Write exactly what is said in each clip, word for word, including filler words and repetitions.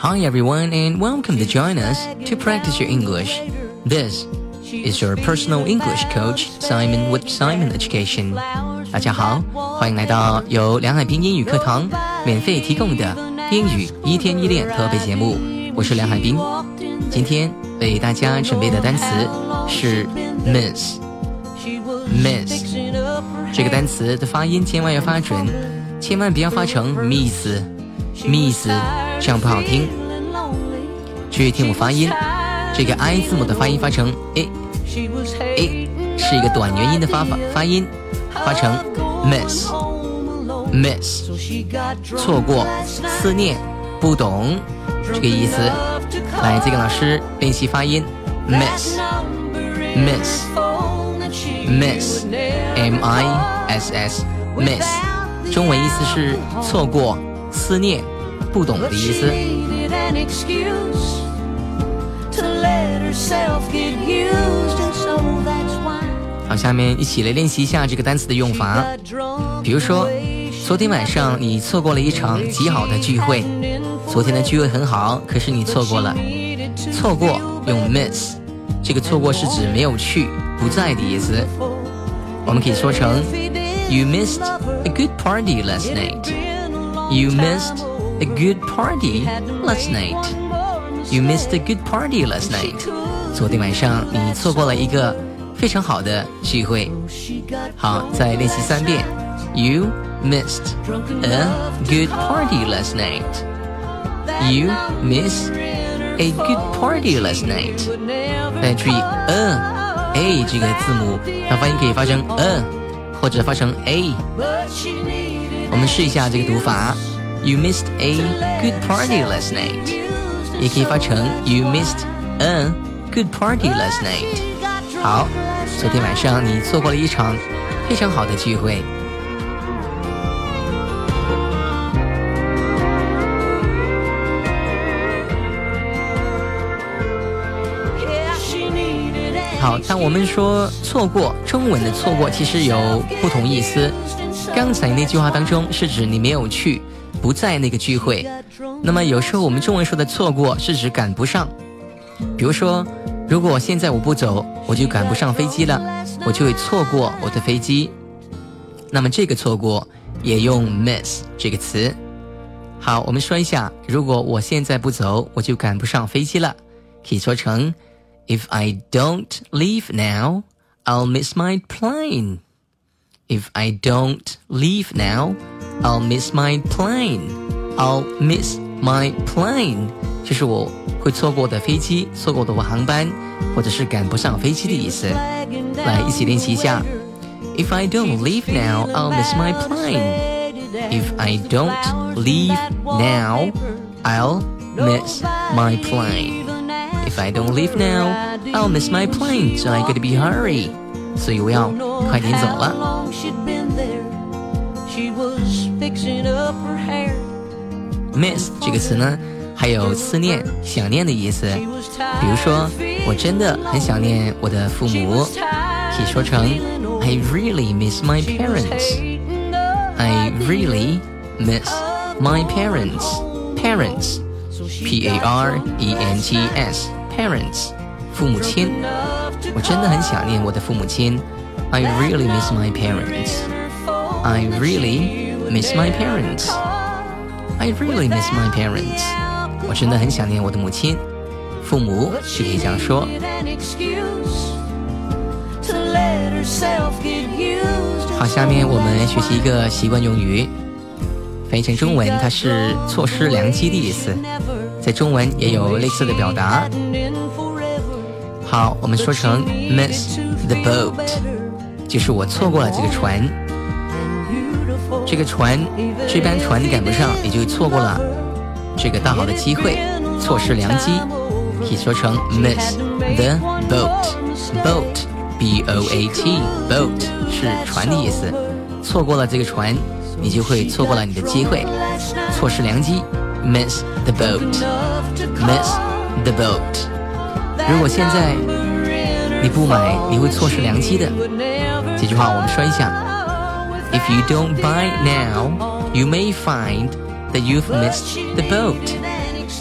Hi everyone and welcome to join us to practice your English. This is your personal English coach, Simon with Simon Education. 大家好，欢迎来到由梁海滨英语课堂免费提供的英语一天一练特别节目，我是梁海滨。今天为大家准备的单词是 miss miss 这个单词的发音千万要发准，千万不要发成 miss miss， 这样不好听。注意听我发音，这个 I 字母的发音发成 A A， 是一个短元音的发法发音，发成 miss miss， 错过、思念、不懂这个意思。来，再跟老师练习发音 miss miss miss M I S S miss， 中文意思是错过、思念、不懂的意思。好，下面一起来练习一下这个单词的用法。比如说，昨天晚上你错过了一场极好的聚会。昨天的聚会很好，可是你错过了。错过用 miss， 这个错过是指没有去、不在的意思。我们可以说成 You missed a good party last night. You missed a good party last night. You missed a good party last night. 昨天晚上你错过了一个非常好的聚会。好，再练习三遍。You missed a good party last night. You missed a good party last night. 大家注意 a a 这个字母，它发音可以发成 a 或者发成 a。我们试一下这个读法。You missed a good party last night. 也可以发成 You missed a good party last night. 好，昨天晚上你错过了一场非常好的聚会。好，当我们说错过，中文的错过其实有不同意思。刚才那句话当中是指你没有去，不在那个聚会。那么有时候我们中文说的错过是指赶不上。比如说，如果现在我不走，我就赶不上飞机了，我就会错过我的飞机。那么这个错过也用 miss 这个词。好，我们说一下，如果我现在不走，我就赶不上飞机了，可以说成If I don't leave now, I'll miss my plane. If I don't leave now, I'll miss my plane. I'll miss my plane. 就是我会错过的飞机，错过的我航班，或者是赶不上飞机的意思。来，一起练习一下。If I don't leave now, I'll miss my plane. If I don't leave now, I'll miss my plane.If I don't leave now, I'll miss my plane, so I gotta be hurry. 所以我要快点走了。miss 这个词呢，还有思念、想念的意思。比如说，我真的很想念我的父母，可以说成 I really miss my parents. I really miss my parents. Parents, P A R E N T S, parents, 父母亲。我真的很想念我的父母亲。I really miss my parents. I really miss my parents. I really miss my parents. 我真的很想念我的母亲。父母是可以这样说。好，下面我们学习一个习惯用语。翻译成中文，它是错失良机的意思，在中文也有类似的表达。好，我们说成 miss the boat， 就是我错过了这个船。这个船，这班船赶不上，也就错过了这个大好的机会，错失良机，可以说成 miss the boat。boat B O A T boat 是船的意思，错过了这个船，你就会错过了你的机会，错失良机 miss the boat miss the boat。 如果现在你不买，你会错失良机的。这句话我们说一下。 If you don't buy now, you may find that you've missed the boat.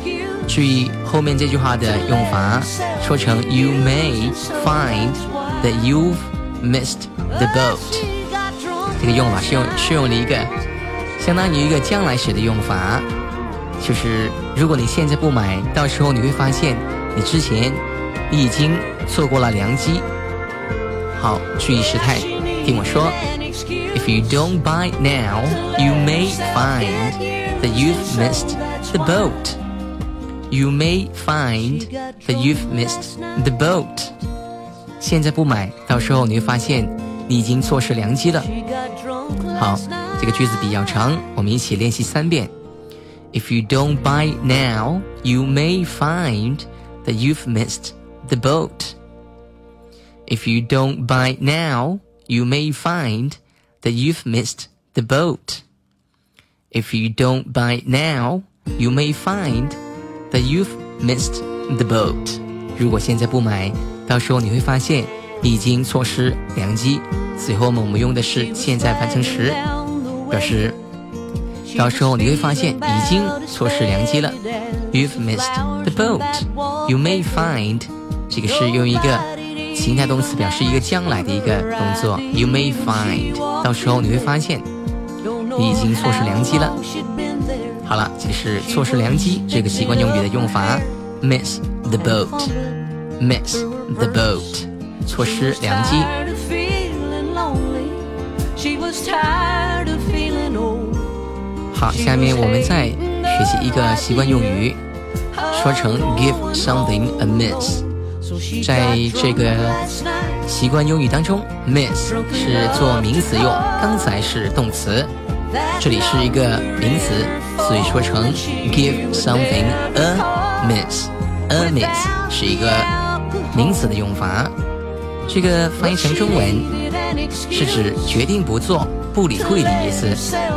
注意后面这句话的用法，说成 You may find that you've missed the boat。 这个用法是用是用了一个相当于一个将来时的用法，就是如果你现在不买，到时候你会发现你之前你已经错过了良机。好，注意时态，听我说 If you don't buy now, you may find that you've missed the boat. You may find that you've missed the boat. 现在不买，到时候你会发现你已经错失良机了。好，这个句子比较长，我们一起练习三遍。If you don't buy now, you may find that you've missed the boat. If you don't buy now, you may find that you've missed the boat. If you don't buy now, you may find that you've missed the boat. 如果现在不买，到时候你会发现你已经错失良机。随后我们用的是现在完成时，表示到时候你会发现已经错失良机了。You've missed the boat. You may find 这个是用一个形态动词表示一个将来的一个动作。You may find 到时候你会发现你已经错失良机了。好了，这是错失良机这个习惯用语的用法。Miss the boat. Miss the boat. 错失良机。好，下面我们再学习一个习惯用语，说成 give something a miss。 在这个习惯用语当中 miss 是做名词用，刚才是动词，这里是一个名词，所以说成 give something a miss。 a miss 是一个名词的用法，这个翻译成中文是指决定不做、不理会的意思。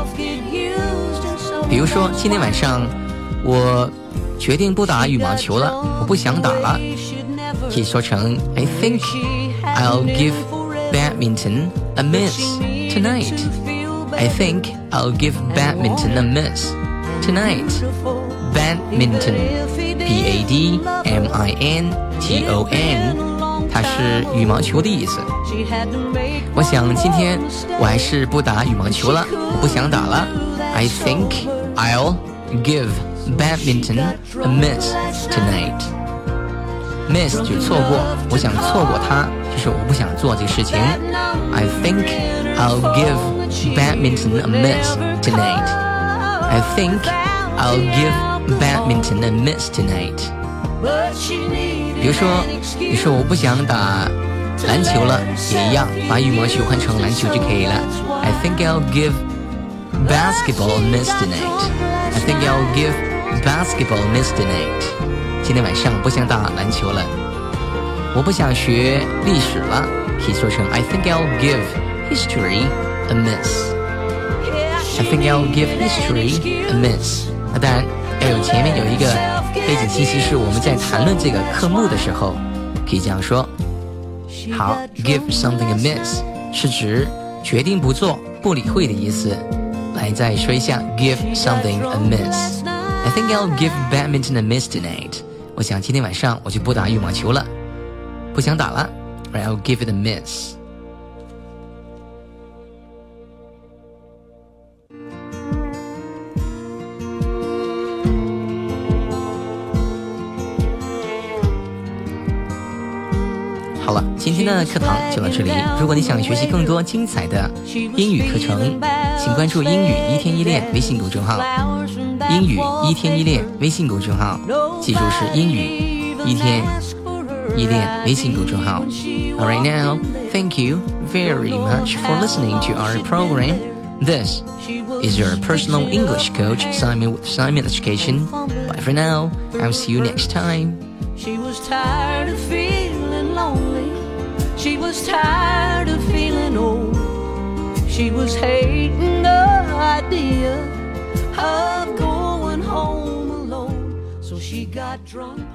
比如说今天晚上我决定不打羽毛球了，我不想打了，可以说成 I think I'll give badminton a miss tonight. I think I'll give badminton a miss tonight. Badminton, B A D M I N T O N， 它是羽毛球的意思。我想今天我还是不打羽毛球了，我不想打了。I think I'll give badminton a miss tonight. Miss 就错过，我想错过它，就是我不想做这个事情。I think I'll give badminton a miss tonight. I think I'll give badminton a miss tonight. 比如说，你说我不想打篮球了，也一样，把羽毛球换成篮球就可以了。I think I'll give basketball a miss tonight. I think I'll give basketball a miss tonight. 今天晚上不想打篮球了，我不想学历史了，可以说成 I think I'll give history a miss. I think I'll give history a miss. 那当然要有前面有一个背景信息，是我们在谈论这个科目的时候可以这样说。好， give something a miss 是指决定不做、不理会的意思。来再说一下 give something a miss. I think I'll give badminton a miss tonight. 我想今天晚上我就不打羽毛球了，不想打了。I'll give it a miss. 好了，今天的课堂就到这里。如果你想学习更多精彩的英语课程，请关注英语一天一练微信公众号。英语一天一练微信公众号，记住是英语一天一练微信公众号。Alright now, thank you very much for listening to our program. This is your personal English coach, Simon with Simon Education. Bye for now. I'll see you next time. She was tired of feeling lonely. She was tired of feeling old. She was hating the idea of going home alone. So she got drunk.